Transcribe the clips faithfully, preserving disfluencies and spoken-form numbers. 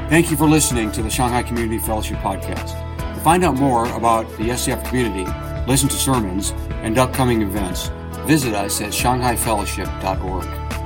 Thank you for listening to the Shanghai Community Fellowship Podcast. To find out more about the S C F community, listen to sermons, and upcoming events, visit us at shanghai fellowship dot org.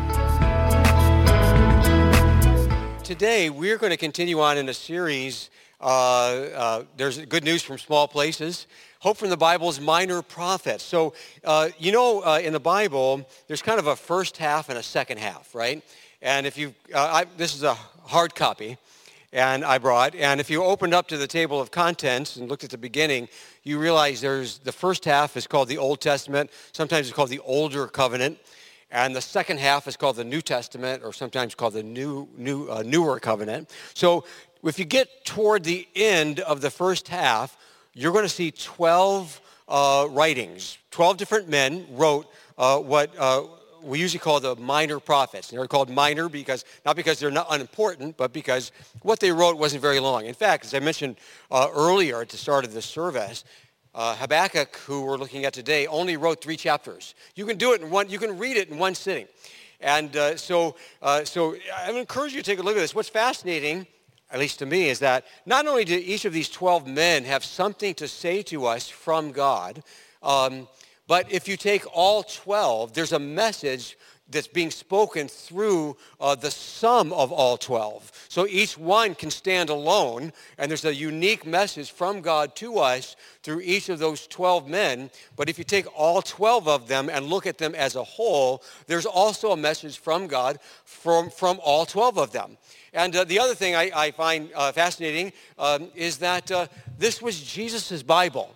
Today, we're going to continue on in a series, uh, uh, there's good news from small places. Hope from the Bible's minor prophets. So, uh, you know, uh, in the Bible, there's kind of a first half and a second half, right? And if you, uh, I, this is a hard copy, and I brought, and if you opened up to the table of contents and looked at the beginning, you realize there's, the first half is called the Old Testament, sometimes it's called the Older Covenant, and the second half is called the New Testament, or sometimes called the New, new, uh, Newer Covenant. So, if you get toward the end of the first half, you're going to see twelve uh, writings. twelve different men wrote uh, what uh, we usually call the minor prophets. And they're called minor because, not because they're not unimportant, but because what they wrote wasn't very long. In fact, as I mentioned uh, earlier at the start of this service, uh, Habakkuk, who we're looking at today, only wrote three chapters. You can do it in one, you can read it in one sitting. And uh, so, uh, so I would encourage you to take a look at this. What's fascinating, at least to me, is that not only do each of these twelve men have something to say to us from God, um, but if you take all twelve, there's a message that's being spoken through uh, the sum of all twelve. So each one can stand alone, and there's a unique message from God to us through each of those twelve men. But if you take all twelve of them and look at them as a whole, there's also a message from God from, from all twelve of them. And uh, the other thing I, I find uh, fascinating um, is that uh, this was Jesus' Bible.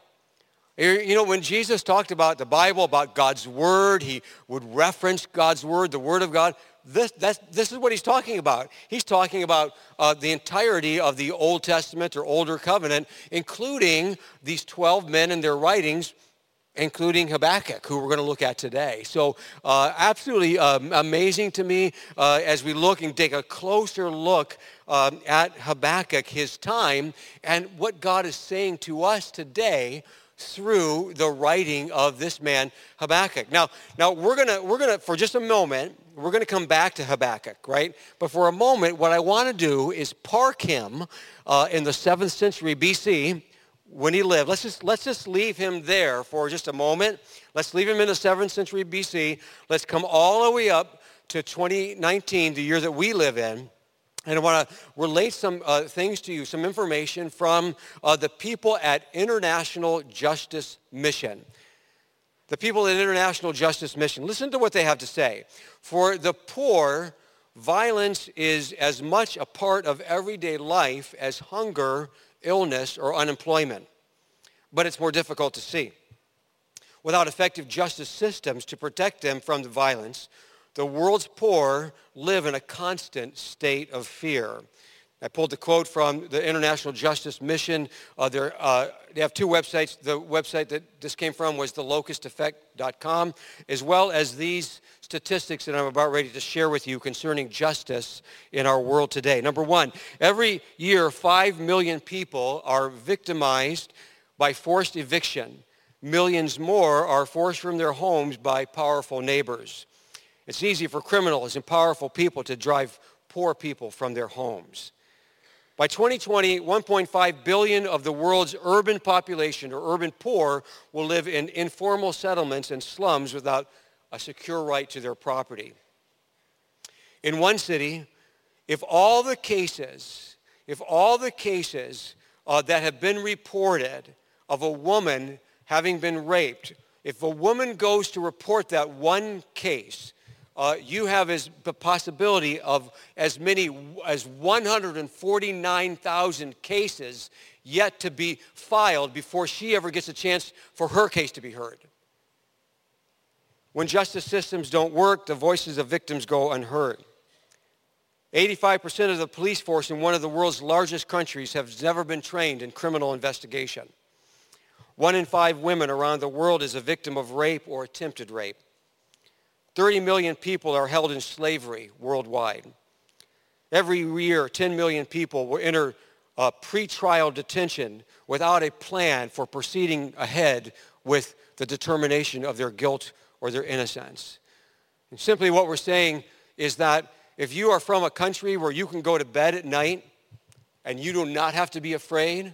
You know, when Jesus talked about the Bible, about God's Word, he would reference God's Word, the Word of God. This, that's, this is what he's talking about. He's talking about uh, the entirety of the Old Testament or Older Covenant, including these twelve men and their writings, including Habakkuk, who we're going to look at today. So uh, absolutely um, amazing to me uh, as we look and take a closer look um, at Habakkuk, his time, and what God is saying to us today through the writing of this man Habakkuk. Now, now we're gonna we're gonna for just a moment we're gonna come back to Habakkuk, right? But for a moment, what I want to do is park him uh, in the seventh century B C when he lived. Let's just let's just leave him there for just a moment. Let's leave him in the seventh century B C. Let's come all the way up to twenty nineteen, the year that we live in. And I want to relate some uh, things to you, some information from uh, the people at International Justice Mission. The people at International Justice Mission. Listen to what they have to say. For the poor, violence is as much a part of everyday life as hunger, illness, or unemployment. But it's more difficult to see. Without effective justice systems to protect them from the violence, the world's poor live in a constant state of fear. I pulled the quote from the International Justice Mission. Uh, uh, they have two websites. The website that this came from was the locust effect dot com, as well as these statistics that I'm about ready to share with you concerning justice in our world today. Number one, every year, five million people are victimized by forced eviction. Millions more are forced from their homes by powerful neighbors. It's easy for criminals and powerful people to drive poor people from their homes. By twenty twenty, one point five billion of the world's urban population, or urban poor, will live in informal settlements and slums without a secure right to their property. In one city, if all the cases, if all the cases uh, that have been reported of a woman having been raped, if a woman goes to report that one case, Uh, you have as the possibility of as many as one hundred forty-nine thousand cases yet to be filed before she ever gets a chance for her case to be heard. When justice systems don't work, the voices of victims go unheard. eighty-five percent of the police force in one of the world's largest countries have never been trained in criminal investigation. One in five women around the world is a victim of rape or attempted rape. thirty million people are held in slavery worldwide. Every year, ten million people will enter uh, pre-trial detention without a plan for proceeding ahead with the determination of their guilt or their innocence. And simply what we're saying is that if you are from a country where you can go to bed at night and you do not have to be afraid.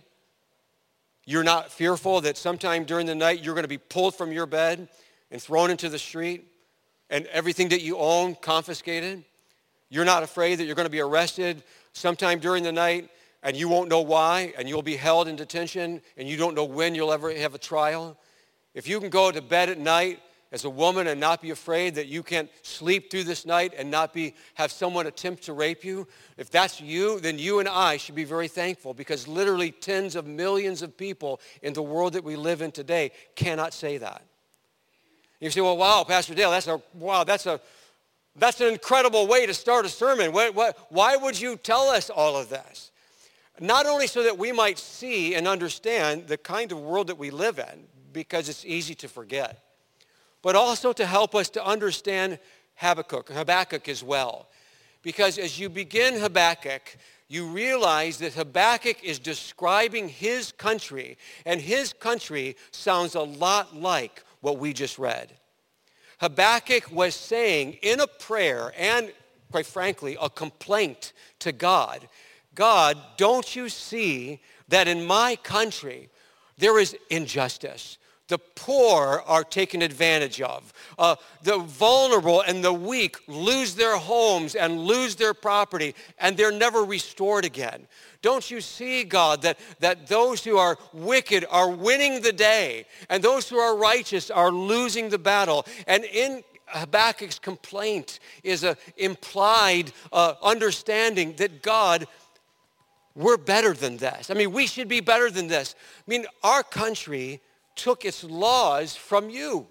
You're not fearful that sometime during the night you're going to be pulled from your bed and thrown into the street and everything that you own confiscated. You're not afraid that you're going to be arrested sometime during the night and you won't know why, and you'll be held in detention and you don't know when you'll ever have a trial. If you can go to bed at night as a woman and not be afraid that you can't sleep through this night and not be have someone attempt to rape you, if that's you, then you and I should be very thankful, because literally tens of millions of people in the world that we live in today cannot say that. You say, well, wow, Pastor Dale, that's a wow, that's a that's an incredible way to start a sermon. What, what, why would you tell us all of this? Not only so that we might see and understand the kind of world that we live in, because it's easy to forget, but also to help us to understand Habakkuk, Habakkuk as well. Because as you begin Habakkuk, you realize that Habakkuk is describing his country, and his country sounds a lot like what we just read. Habakkuk was saying in a prayer and, quite frankly, a complaint to God, God, don't you see that in my country there is injustice? The poor are taken advantage of. Uh, the vulnerable and the weak lose their homes and lose their property, and they're never restored again. Don't you see, God, that, that those who are wicked are winning the day, and those who are righteous are losing the battle? And in Habakkuk's complaint is an implied uh, understanding that God, we're better than this. I mean, we should be better than this. I mean, our country took its laws from you.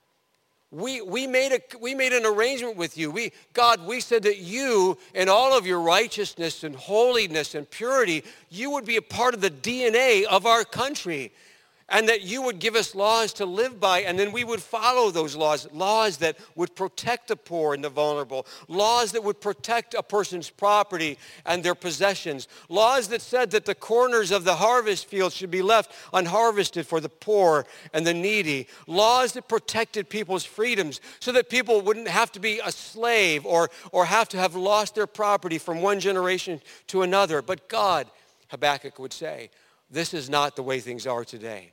We, we, made a, we made an arrangement with you. We, God, we said that you, in all of your righteousness and holiness and purity, you would be a part of the D N A of our country, and that you would give us laws to live by, and then we would follow those laws, laws that would protect the poor and the vulnerable, laws that would protect a person's property and their possessions, laws that said that the corners of the harvest fields should be left unharvested for the poor and the needy, laws that protected people's freedoms so that people wouldn't have to be a slave or, or have to have lost their property from one generation to another. But God, Habakkuk would say, this is not the way things are today.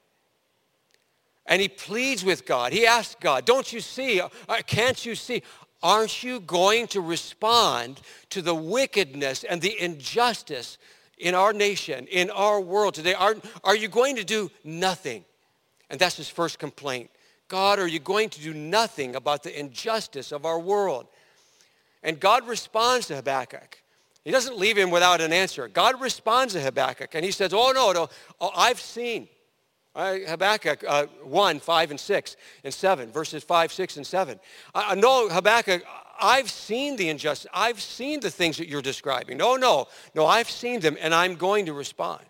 And he pleads with God. He asks God, don't you see, can't you see, aren't you going to respond to the wickedness and the injustice in our nation, in our world today? Are, are you going to do nothing? And that's his first complaint. God, are you going to do nothing about the injustice of our world? And God responds to Habakkuk. He doesn't leave him without an answer. God responds to Habakkuk, and he says, oh, no, no, oh, I've seen. Uh, Habakkuk uh, one, five, and six, and seven, verses five, six, and seven. I, I know, Habakkuk, I've seen the injustice. I've seen the things that you're describing. No, no, no, I've seen them, and I'm going to respond.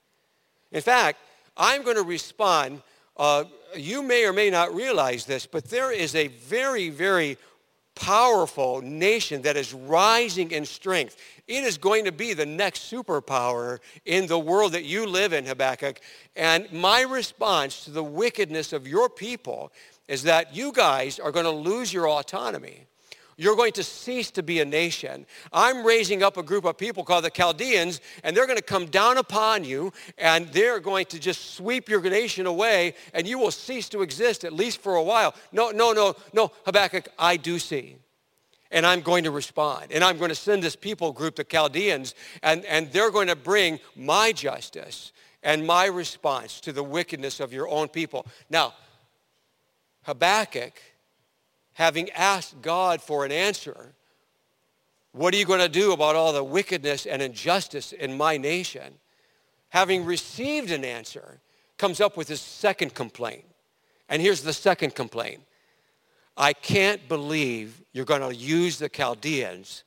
In fact, I'm going to respond. Uh, you may or may not realize this, but there is a very, very powerful nation that is rising in strength. It is going to be the next superpower in the world that you live in, Habakkuk. And my response to the wickedness of your people is that you guys are going to lose your autonomy. You're going to cease to be a nation. I'm raising up a group of people called the Chaldeans, and they're going to come down upon you, and they're going to just sweep your nation away, and you will cease to exist, at least for a while. No, no, no, no, Habakkuk, I do see. And I'm going to respond. And I'm going to send this people group, the Chaldeans, and, and they're going to bring my justice and my response to the wickedness of your own people. Now, Habakkuk, having asked God for an answer, what are you going to do about all the wickedness and injustice in my nation? Having received an answer, comes up with his second complaint. And here's the second complaint. I can't believe you're going to use the Chaldeans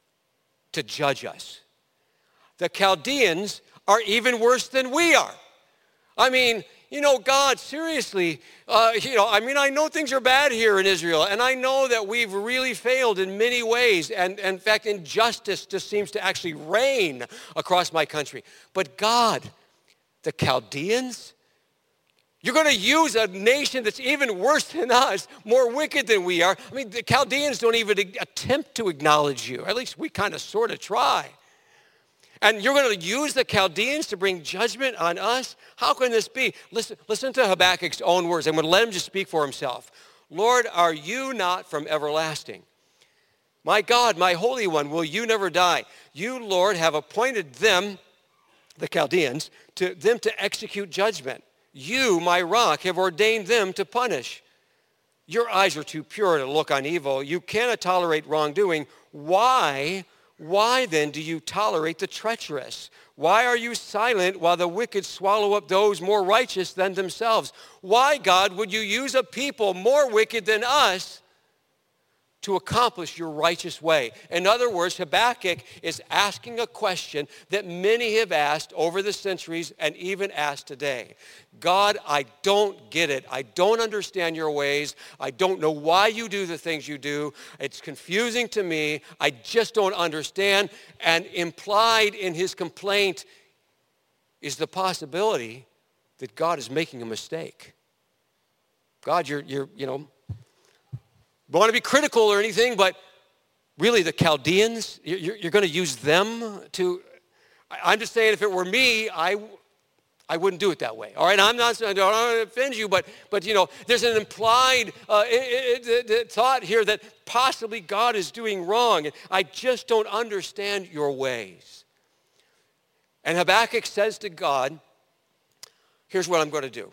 to judge us. The Chaldeans are even worse than we are. I mean, you know, God, seriously, uh, you know, I mean, I know things are bad here in Israel, and I know that we've really failed in many ways, and, and in fact, injustice just seems to actually reign across my country. But God, the Chaldeans, you're going to use a nation that's even worse than us, more wicked than we are. I mean, the Chaldeans don't even attempt to acknowledge you. At least we kind of sort of try. And you're going to use the Chaldeans to bring judgment on us? How can this be? Listen, listen to Habakkuk's own words. I'm going to let him just speak for himself. Lord, are you not from everlasting? My God, my Holy One, will you never die? You, Lord, have appointed them, the Chaldeans, to them to execute judgment. You, my rock, have ordained them to punish. Your eyes are too pure to look on evil. You cannot tolerate wrongdoing. Why, why then do you tolerate the treacherous? Why are you silent while the wicked swallow up those more righteous than themselves? Why, God, would you use a people more wicked than us to accomplish your righteous way? In other words, Habakkuk is asking a question that many have asked over the centuries and even asked today. God, I don't get it. I don't understand your ways. I don't know why you do the things you do. It's confusing to me. I just don't understand. And implied in his complaint is the possibility that God is making a mistake. God, you're, you're you know, don't want to be critical or anything, but really the Chaldeans, you're, you're going to use them to, I'm just saying if it were me, I, I wouldn't do it that way. All right, I'm not, I don't want to offend you, but, but you know, there's an implied uh, it, it, it, thought here that possibly God is doing wrong. I just don't understand your ways. And Habakkuk says to God, here's what I'm going to do.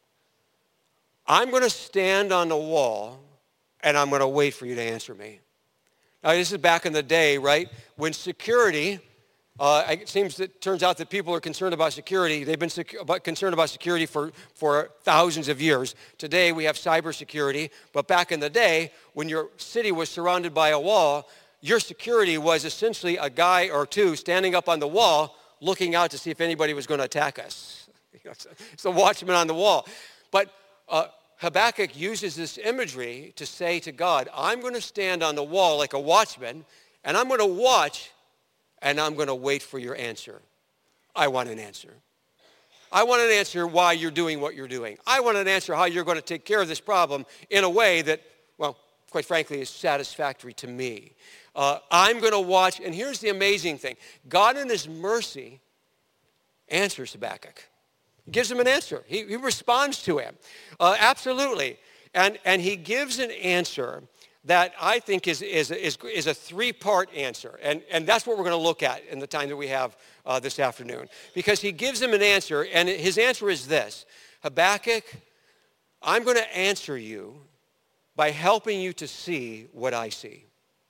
I'm going to stand on the wall and I'm going to wait for you to answer me. Now, this is back in the day, right, when security, uh, it seems that turns out that people are concerned about security. They've been secu- about, concerned about security for, for thousands of years. Today, we have cybersecurity, but back in the day, when your city was surrounded by a wall, your security was essentially a guy or two standing up on the wall looking out to see if anybody was going to attack us. It's the watchman on the wall. But uh, Habakkuk uses this imagery to say to God, I'm going to stand on the wall like a watchman, and I'm going to watch, and I'm going to wait for your answer. I want an answer. I want an answer why you're doing what you're doing. I want an answer how you're going to take care of this problem in a way that, well, quite frankly, is satisfactory to me. Uh, I'm going to watch, and here's the amazing thing. God in his mercy answers Habakkuk. He gives him an answer. He, he responds to him. Uh, absolutely. And, and he gives an answer that I think is, is, is, is a three-part answer. And, and that's what we're going to look at in the time that we have uh, this afternoon. Because he gives him an answer, and his answer is this. Habakkuk, I'm going to answer you by helping you to see what I see.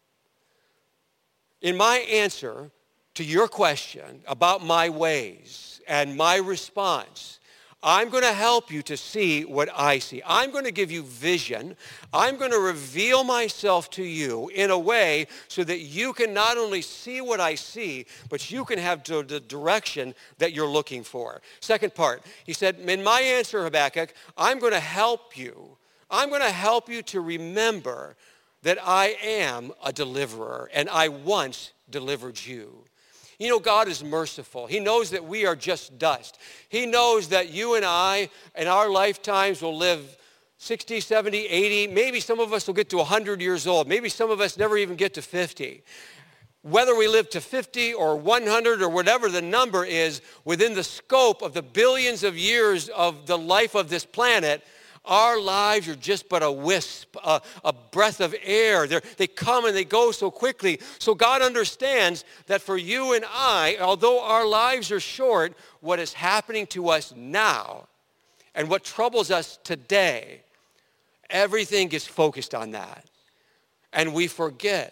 In my answer to your question about my ways, and my response, I'm going to help you to see what I see. I'm going to give you vision. I'm going to reveal myself to you in a way so that you can not only see what I see, but you can have the direction that you're looking for. Second part, he said, in my answer, Habakkuk, I'm going to help you. I'm going to help you to remember that I am a deliverer, and I once delivered you. You know, God is merciful. He knows that we are just dust. He knows that you and I, in our lifetimes, will live sixty, seventy, eighty. Maybe some of us will get to one hundred years old. Maybe some of us never even get to fifty. Whether we live to fifty or one hundred or whatever the number is, within the scope of the billions of years of the life of this planet, our lives are just but a wisp, a, a breath of air. They're, they come and they go so quickly. So God understands that for you and I, although our lives are short, what is happening to us now and what troubles us today, everything is focused on that. And we forget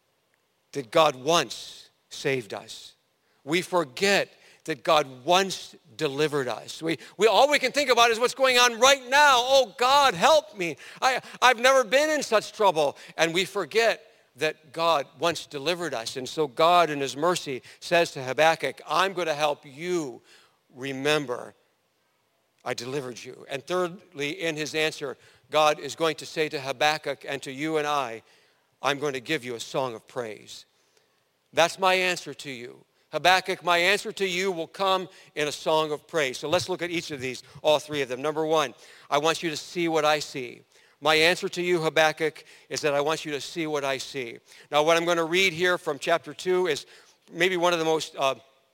that God once saved us. We forget that God once delivered us. We, we all we can think about is what's going on right now. Oh, God, help me. I, I've never been in such trouble. And we forget that God once delivered us. And so God in his mercy says to Habakkuk, I'm going to help you remember I delivered you. And thirdly, in his answer, God is going to say to Habakkuk and to you and I, I'm going to give you a song of praise. That's my answer to you. Habakkuk, my answer to you will come in a song of praise. So let's look at each of these, all three of them. Number one, I want you to see what I see. My answer to you, Habakkuk, is that I want you to see what I see. Now, what I'm going to read here from chapter two is maybe one of the most uh,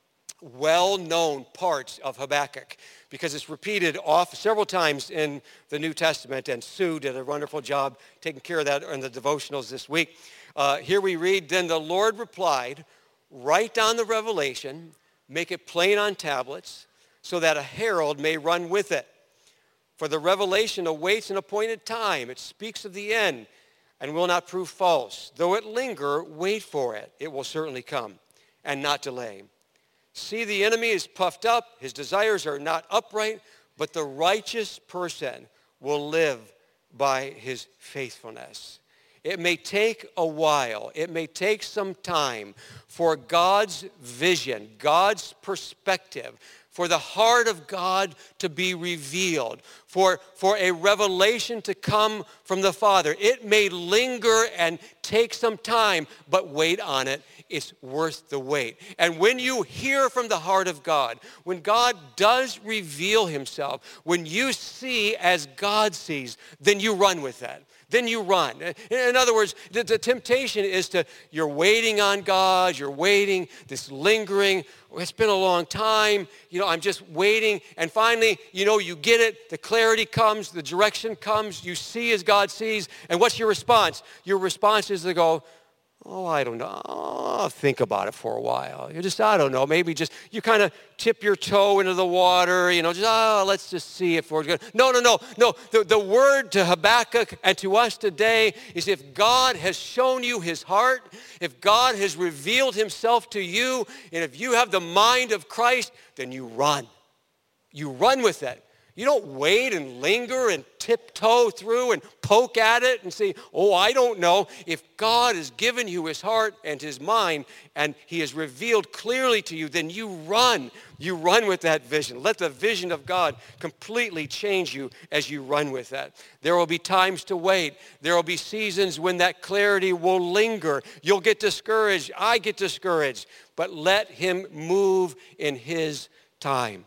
well-known parts of Habakkuk because it's repeated off several times in the New Testament, and Sue did a wonderful job taking care of that in the devotionals this week. Uh, here we read, "Then the Lord replied, write down the revelation, make it plain on tablets, so that a herald may run with it. For the revelation awaits an appointed time. It speaks of the end and will not prove false. Though it linger, wait for it. It will certainly come and not delay. See, the enemy is puffed up. His desires are not upright, but the righteous person will live by his faithfulness." It may take a while. It may take some time for God's vision, God's perspective, for the heart of God to be revealed, for, for a revelation to come from the Father. It may linger and take some time, but wait on it. It's worth the wait. And when you hear from the heart of God, when God does reveal himself, when you see as God sees, then you run with that. Then you run. In other words, the, the temptation is to, you're waiting on God, you're waiting, this lingering, it's been a long time, you know, I'm just waiting, and finally, you know, you get it, the clarity comes, the direction comes, you see as God sees, and what's your response? Your response is to go, oh, I don't know, I'll think about it for a while. You just, I don't know, maybe just, you kind of tip your toe into the water, you know, just, oh, let's just see if we're good. No, no, no, no. The, the word to Habakkuk and to us today is if God has shown you his heart, if God has revealed himself to you, and if you have the mind of Christ, then you run. You run with it. You don't wait and linger and tiptoe through and poke at it and say, oh, I don't know. If God has given you his heart and his mind and he has revealed clearly to you, then you run. You run with that vision. Let the vision of God completely change you as you run with that. There will be times to wait. There will be seasons when that clarity will linger. You'll get discouraged. I get discouraged. But let him move in his time.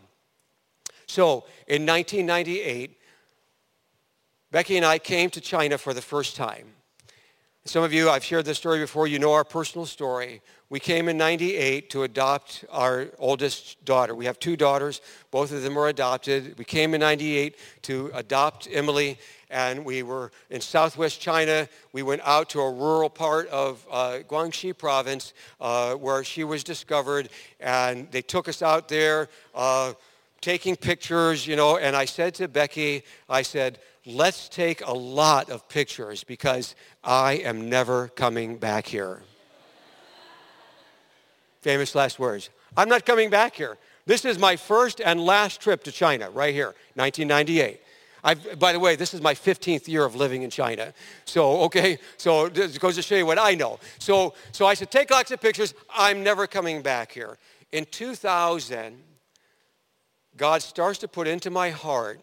So in nineteen ninety-eight, Becky and I came to China for the first time. Some of you, I've shared this story before, you know our personal story. We came in ninety-eight to adopt our oldest daughter. We have two daughters. Both of them were adopted. We came in ninety-eight to adopt Emily, and we were in southwest China. We went out to a rural part of uh, Guangxi province uh, where she was discovered, and they took us out there, uh, taking pictures, you know, and I said to Becky, I said, let's take a lot of pictures because I am never coming back here. Famous last words. I'm not coming back here. This is my first and last trip to China, right here, nineteen ninety-eight. I've, by the way, this is my fifteenth year of living in China. So, okay, so this goes to show you what I know. So, so I said, take lots of pictures. I'm never coming back here. In two thousand, God starts to put into my heart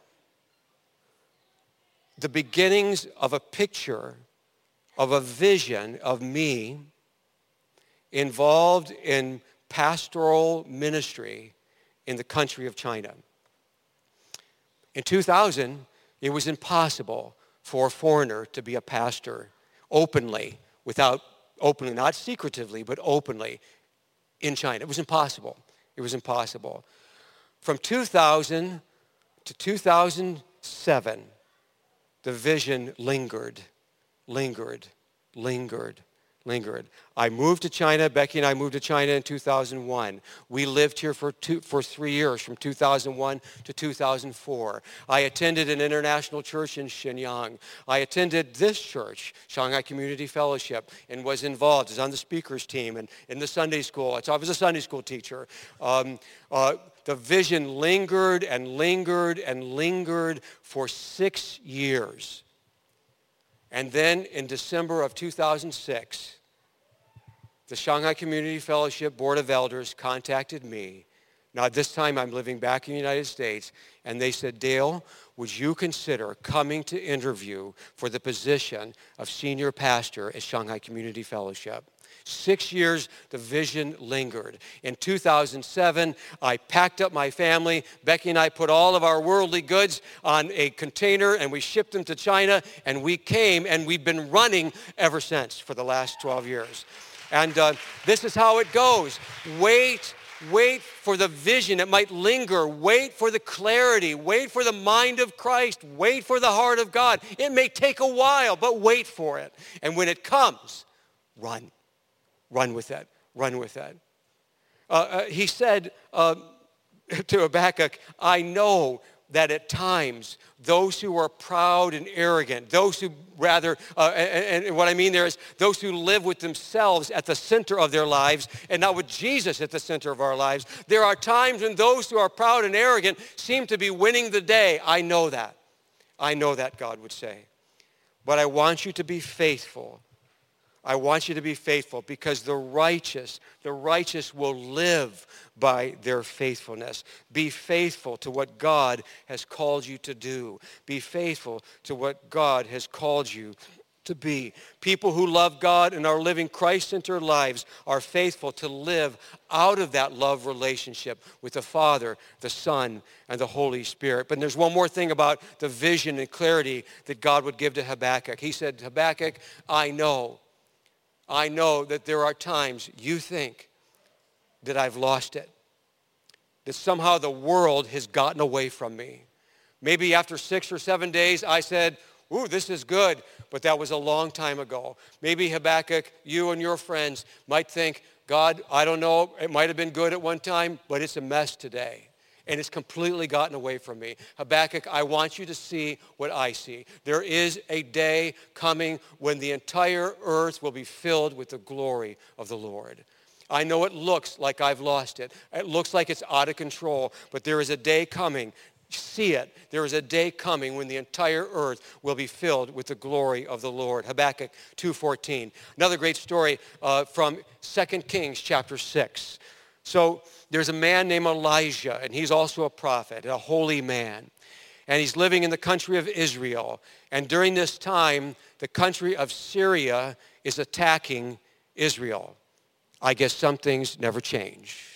the beginnings of a picture, of a vision of me involved in pastoral ministry in the country of China. In two thousand, it was impossible for a foreigner to be a pastor openly, without openly, not secretively, but openly in China. It was impossible. It was impossible. From two thousand to two thousand seven, the vision lingered, lingered, lingered, lingered. I moved to China. Becky and I moved to China in two thousand one. We lived here for two, for three years, from two thousand one to two thousand four. I attended an international church in Shenyang. I attended this church, Shanghai Community Fellowship, and was involved, was on the speakers team and in the Sunday school. I was a Sunday school teacher. Um, uh, the vision lingered and lingered and lingered for six years. And then in December of two thousand six, the Shanghai Community Fellowship Board of Elders contacted me. Now, this time I'm living back in the United States, and they said, Dale, would you consider coming to interview for the position of senior pastor at Shanghai Community Fellowship? Six years, the vision lingered. In two thousand seven, I packed up my family. Becky and I put all of our worldly goods on a container, and we shipped them to China, and we came, and we've been running ever since for the last twelve years. And uh, this is how it goes. Wait, Wait for the vision that might linger. Wait for the clarity. Wait for the mind of Christ. Wait for the heart of God. It may take a while, but wait for it. And when it comes, run. Run with that. Run with that. Uh, uh, he said uh, to Habakkuk, I know that at times those who are proud and arrogant, those who rather, uh, and, and what I mean there is those who live with themselves at the center of their lives and not with Jesus at the center of our lives, there are times when those who are proud and arrogant seem to be winning the day. I know that. I know that, God would say. But I want you to be faithful. I want you to be faithful because the righteous, the righteous will live by their faithfulness. Be faithful to what God has called you to do. Be faithful to what God has called you to be. People who love God and are living Christ-centered lives are faithful to live out of that love relationship with the Father, the Son, and the Holy Spirit. But there's one more thing about the vision and clarity that God would give to Habakkuk. He said, Habakkuk, I know. I know that there are times you think that I've lost it, that somehow the world has gotten away from me. Maybe after six or seven days I said, ooh, this is good, but that was a long time ago. Maybe Habakkuk, you and your friends might think, God, I don't know, it might have been good at one time, but it's a mess today. And it's completely gotten away from me. Habakkuk, I want you to see what I see. There is a day coming when the entire earth will be filled with the glory of the Lord. I know it looks like I've lost it. It looks like it's out of control, but there is a day coming. See it. There is a day coming when the entire earth will be filled with the glory of the Lord. Habakkuk two fourteen. Another great story uh, from Second Kings chapter six. So there's a man named Elijah, and he's also a prophet, a holy man. And he's living in the country of Israel. And during this time, the country of Syria is attacking Israel. I guess some things never change.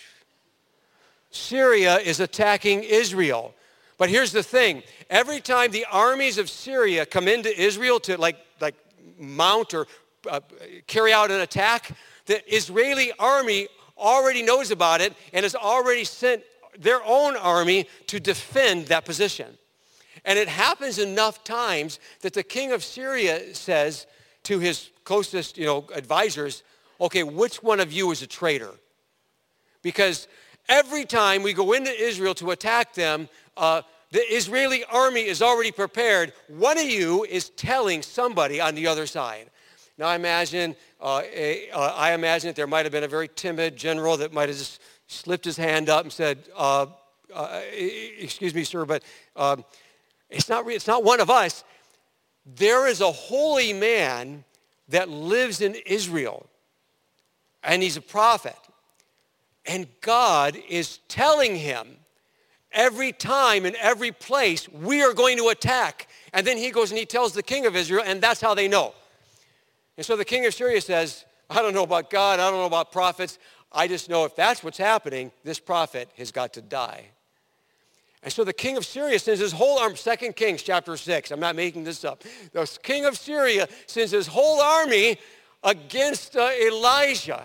Syria is attacking Israel. But here's the thing. Every time the armies of Syria come into Israel to like, like mount or uh, carry out an attack, the Israeli army already knows about it and has already sent their own army to defend that position. And it happens enough times that the king of Syria says to his closest, you know, advisors, okay, which one of you is a traitor? Because every time we go into Israel to attack them, uh, the Israeli army is already prepared. One of you is telling somebody on the other side. Now I imagine, uh, a, uh, I imagine that there might have been a very timid general that might have just slipped his hand up and said, uh, uh, excuse me, sir, but um, it's not, it's not one of us. There is a holy man that lives in Israel, and he's a prophet. And God is telling him every time in every place, we are going to attack. And then he goes and he tells the king of Israel, and that's how they know. And so the king of Syria says, I don't know about God, I don't know about prophets. I just know if that's what's happening, this prophet has got to die. And so the king of Syria sends his whole army, Second Kings chapter six, I'm not making this up. The king of Syria sends his whole army against uh, Elijah.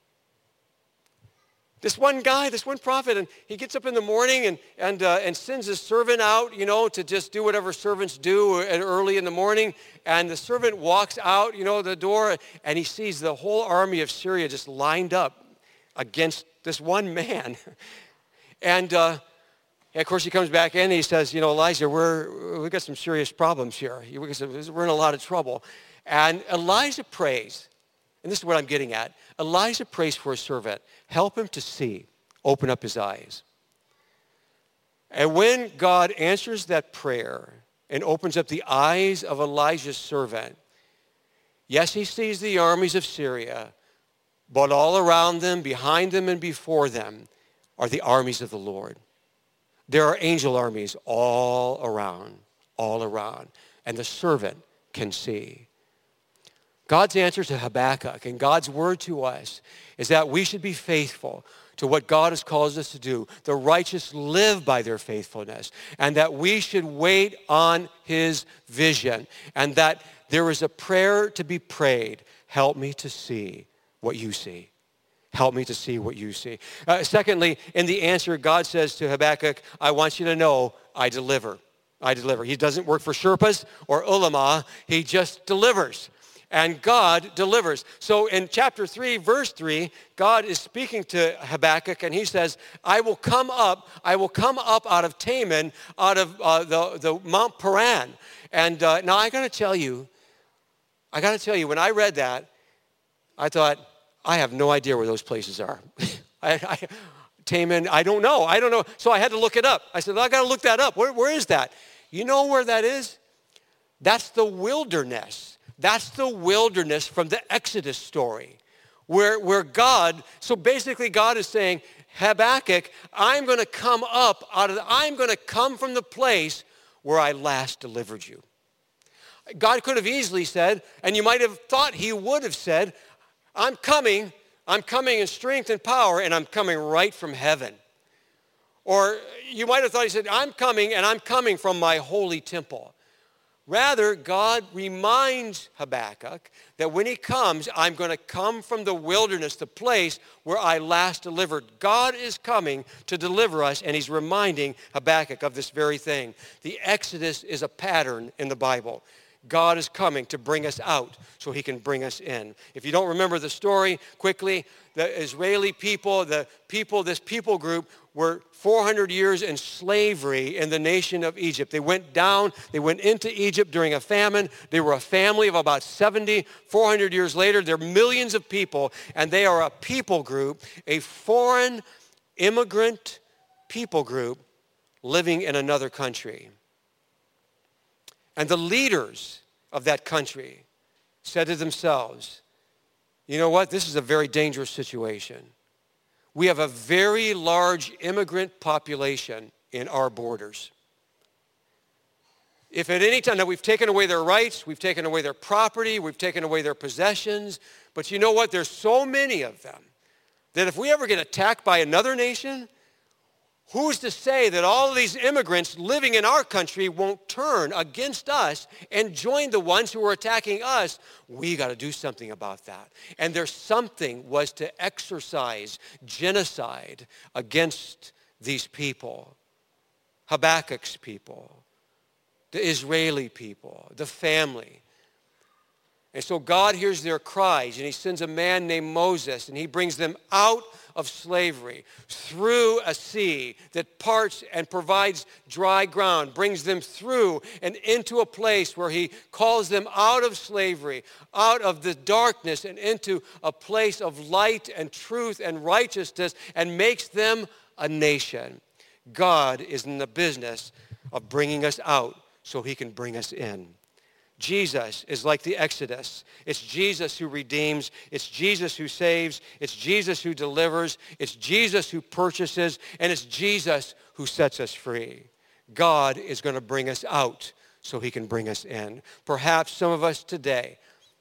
This one guy, this one prophet, and he gets up in the morning and, and, uh, and sends his servant out, you know, to just do whatever servants do early in the morning. And the servant walks out, you know, the door, and he sees the whole army of Syria just lined up against this one man. And, uh, and of course, he comes back in and he says, you know, Elijah, we're, we've got some serious problems here. We're in a lot of trouble. And Elijah prays. And this is what I'm getting at. Elijah prays for his servant. Help him to see. Open up his eyes. And when God answers that prayer and opens up the eyes of Elijah's servant, yes, he sees the armies of Syria, but all around them, behind them, and before them are the armies of the Lord. There are angel armies all around, all around. And the servant can see. God's answer to Habakkuk and God's word to us is that we should be faithful to what God has called us to do. The righteous live by their faithfulness, and that we should wait on his vision, and that there is a prayer to be prayed. Help me to see what you see. Help me to see what you see. Uh, secondly, in the answer, God says to Habakkuk, I want you to know I deliver. I deliver. He doesn't work for Sherpas or ulama. He just delivers. And God delivers. So in chapter three, verse three, God is speaking to Habakkuk, and he says, I will come up, I will come up out of Teman, out of uh, the, the Mount Paran. And uh, now I got to tell you, I got to tell you, when I read that, I thought, I have no idea where those places are. I, I, Teman, I don't know. I don't know. So I had to look it up. I said, well, I got to look that up. Where, where is that? You know where that is? That's the wilderness. That's the wilderness from the Exodus story, where, where God, so basically God is saying, Habakkuk, I'm going to come up out of, the, I'm going to come from the place where I last delivered you. God could have easily said, and you might have thought he would have said, I'm coming, I'm coming in strength and power, and I'm coming right from heaven. Or you might have thought he said, I'm coming, and I'm coming from my holy temple. Rather, God reminds Habakkuk that when he comes, I'm going to come from the wilderness, the place where I last delivered. God is coming to deliver us, and he's reminding Habakkuk of this very thing. The Exodus is a pattern in the Bible. God is coming to bring us out so he can bring us in. If you don't remember the story, quickly, the Israeli people, the people, this people group were four hundred years in slavery in the nation of Egypt. They went down, they went into Egypt during a famine. They were a family of about seventy. four hundred years later, they're millions of people, and they are a people group, a foreign immigrant people group living in another country. And the leaders of that country said to themselves, you know what, this is a very dangerous situation. We have a very large immigrant population in our borders. If at any time, now we've taken away their rights, we've taken away their property, we've taken away their possessions, but you know what, there's so many of them that if we ever get attacked by another nation, who's to say that all of these immigrants living in our country won't turn against us and join the ones who are attacking us? We got to do something about that. And their something was to exercise genocide against these people, Habakkuk's people, the Israeli people, the family. And so God hears their cries, and he sends a man named Moses, and he brings them out of slavery through a sea that parts and provides dry ground, brings them through and into a place where he calls them out of slavery, out of the darkness and into a place of light and truth and righteousness, and makes them a nation. God is in the business of bringing us out so he can bring us in. Jesus is like the Exodus. It's Jesus who redeems. It's Jesus who saves. It's Jesus who delivers. It's Jesus who purchases. And it's Jesus who sets us free. God is going to bring us out so he can bring us in. Perhaps some of us today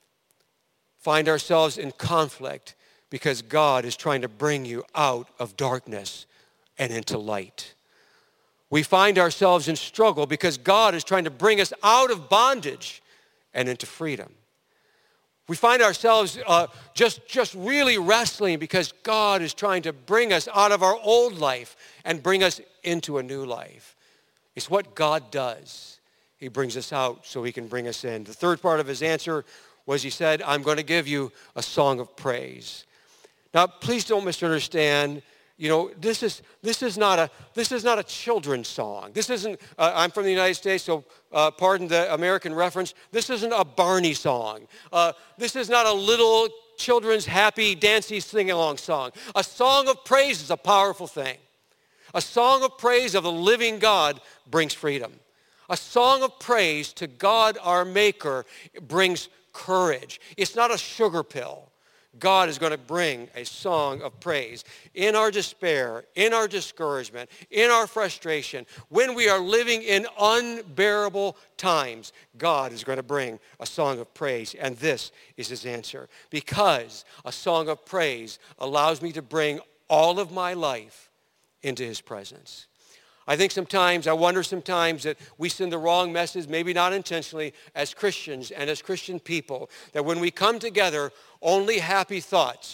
find ourselves in conflict because God is trying to bring you out of darkness and into light. We find ourselves in struggle because God is trying to bring us out of bondage and into freedom. We find ourselves uh, just, just really wrestling because God is trying to bring us out of our old life and bring us into a new life. It's what God does. He brings us out so he can bring us in. The third part of his answer was he said, I'm going to give you a song of praise. Now, please don't misunderstand. You know, this is this is not a this is not a children's song. This isn't. Uh, I'm from the United States, so uh, pardon the American reference. This isn't a Barney song. Uh, this is not a little children's happy, dancy, sing-along song. A song of praise is a powerful thing. A song of praise of the living God brings freedom. A song of praise to God, our Maker, brings courage. It's not a sugar pill. God is going to bring a song of praise. In our despair, in our discouragement, in our frustration, when we are living in unbearable times, God is going to bring a song of praise. And this is his answer. Because a song of praise allows me to bring all of my life into his presence. I think sometimes, I wonder sometimes that we send the wrong message, maybe not intentionally, as Christians and as Christian people, that when we come together, only happy thoughts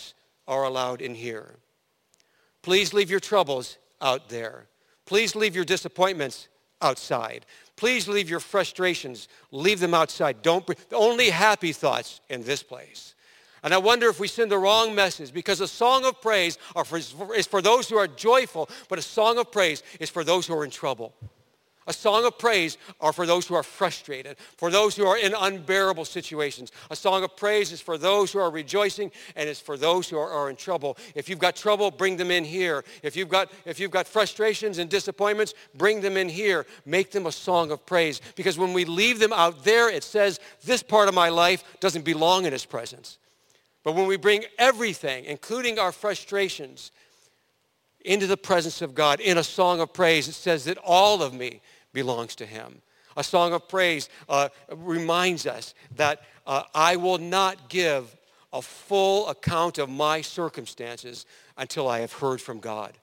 are allowed in here. Please leave your troubles out there. Please leave your disappointments outside. Please leave your frustrations. Leave them outside. Don't bring, only happy thoughts in this place. And I wonder if we send the wrong message, because a song of praise are for, is for those who are joyful, but a song of praise is for those who are in trouble. A song of praise are for those who are frustrated, for those who are in unbearable situations. A song of praise is for those who are rejoicing, and it's for those who are, are in trouble. If you've got trouble, bring them in here. If you've got if you've got frustrations and disappointments, bring them in here. Make them a song of praise. Because when we leave them out there, it says, this part of my life doesn't belong in his presence. But when we bring everything, including our frustrations, into the presence of God in a song of praise, it says that all of me belongs to him. A song of praise uh, reminds us that uh, I will not give a full account of my circumstances until I have heard from God.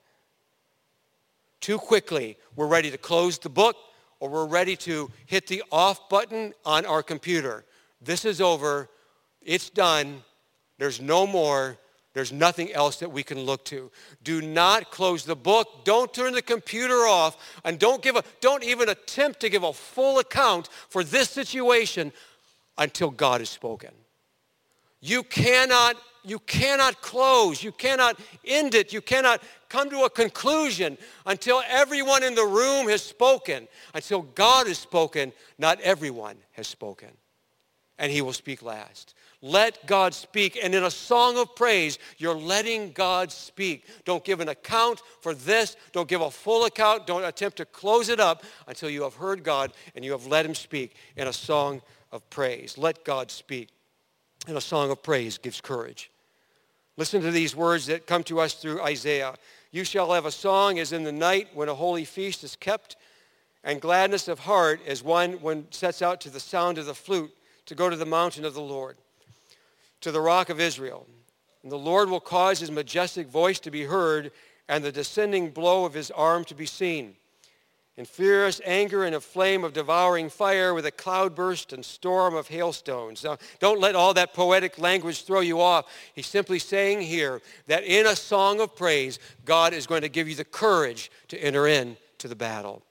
Too quickly, we're ready to close the book, or we're ready to hit the off button on our computer. This is over. It's done. There's no more. There's nothing else that we can look to. Do not close the book. Don't turn the computer off. And don't give a, don't even attempt to give a full account for this situation until God has spoken. You cannot, you cannot close. You cannot end it. You cannot come to a conclusion until everyone in the room has spoken. Until God has spoken, not everyone has spoken. And he will speak last. Let God speak. And in a song of praise, you're letting God speak. Don't give an account for this. Don't give a full account. Don't attempt to close it up until you have heard God and you have let him speak in a song of praise. Let God speak. And a song of praise gives courage. Listen to these words that come to us through Isaiah. You shall have a song as in the night when a holy feast is kept, and gladness of heart as one when sets out to the sound of the flute to go to the mountain of the Lord, to the rock of Israel. And the Lord will cause his majestic voice to be heard and the descending blow of his arm to be seen. In furious anger and a flame of devouring fire with a cloudburst and storm of hailstones. Now, don't let all that poetic language throw you off. He's simply saying here that in a song of praise, God is going to give you the courage to enter into the battle.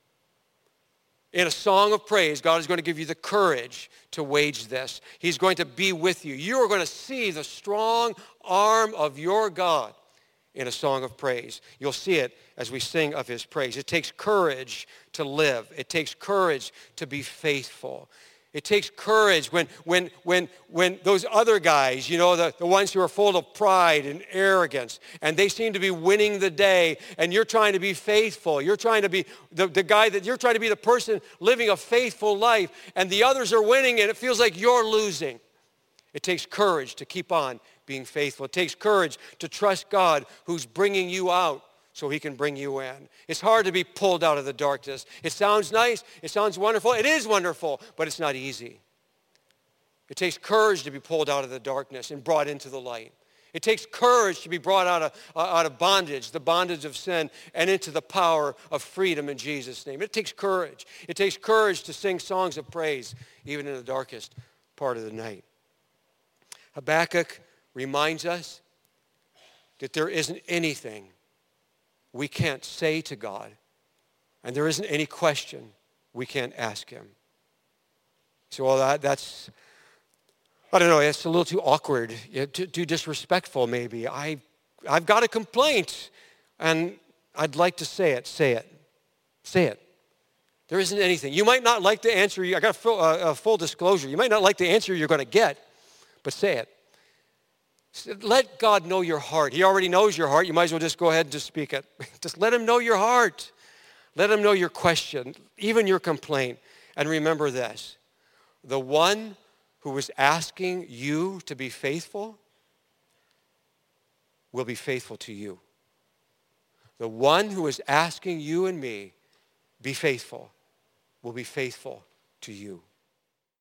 In a song of praise, God is going to give you the courage to wage this. He's going to be with you. You are going to see the strong arm of your God in a song of praise. You'll see it as we sing of his praise. It takes courage to live. It takes courage to be faithful. It takes courage when when when when those other guys, you know, the, the ones who are full of pride and arrogance, and they seem to be winning the day, and you're trying to be faithful. You're trying to be the, the guy that you're trying to be the person living a faithful life, and the others are winning, and it feels like you're losing. It takes courage to keep on being faithful. It takes courage to trust God who's bringing you out so he can bring you in. It's hard to be pulled out of the darkness. It sounds nice. It sounds wonderful. It is wonderful, but it's not easy. It takes courage to be pulled out of the darkness and brought into the light. It takes courage to be brought out of, uh, out of bondage, the bondage of sin, and into the power of freedom in Jesus' name. It takes courage. It takes courage to sing songs of praise, even in the darkest part of the night. Habakkuk reminds us that there isn't anything we can't say to God, and there isn't any question we can't ask him. So, well, that, that's, I don't know, it's a little too awkward, too, too disrespectful maybe. I, I've got a complaint, and I'd like to say it. Say it. Say it. There isn't anything. You might not like the answer. I got a full, uh, a full disclosure. You might not like the answer you're going to get, but say it. Let God know your heart. He already knows your heart. You might as well just go ahead and just speak it. Just let him know your heart. Let him know your question, even your complaint. And remember this, the one who was asking you to be faithful will be faithful to you. The one who is asking you and me, be faithful, will be faithful to you.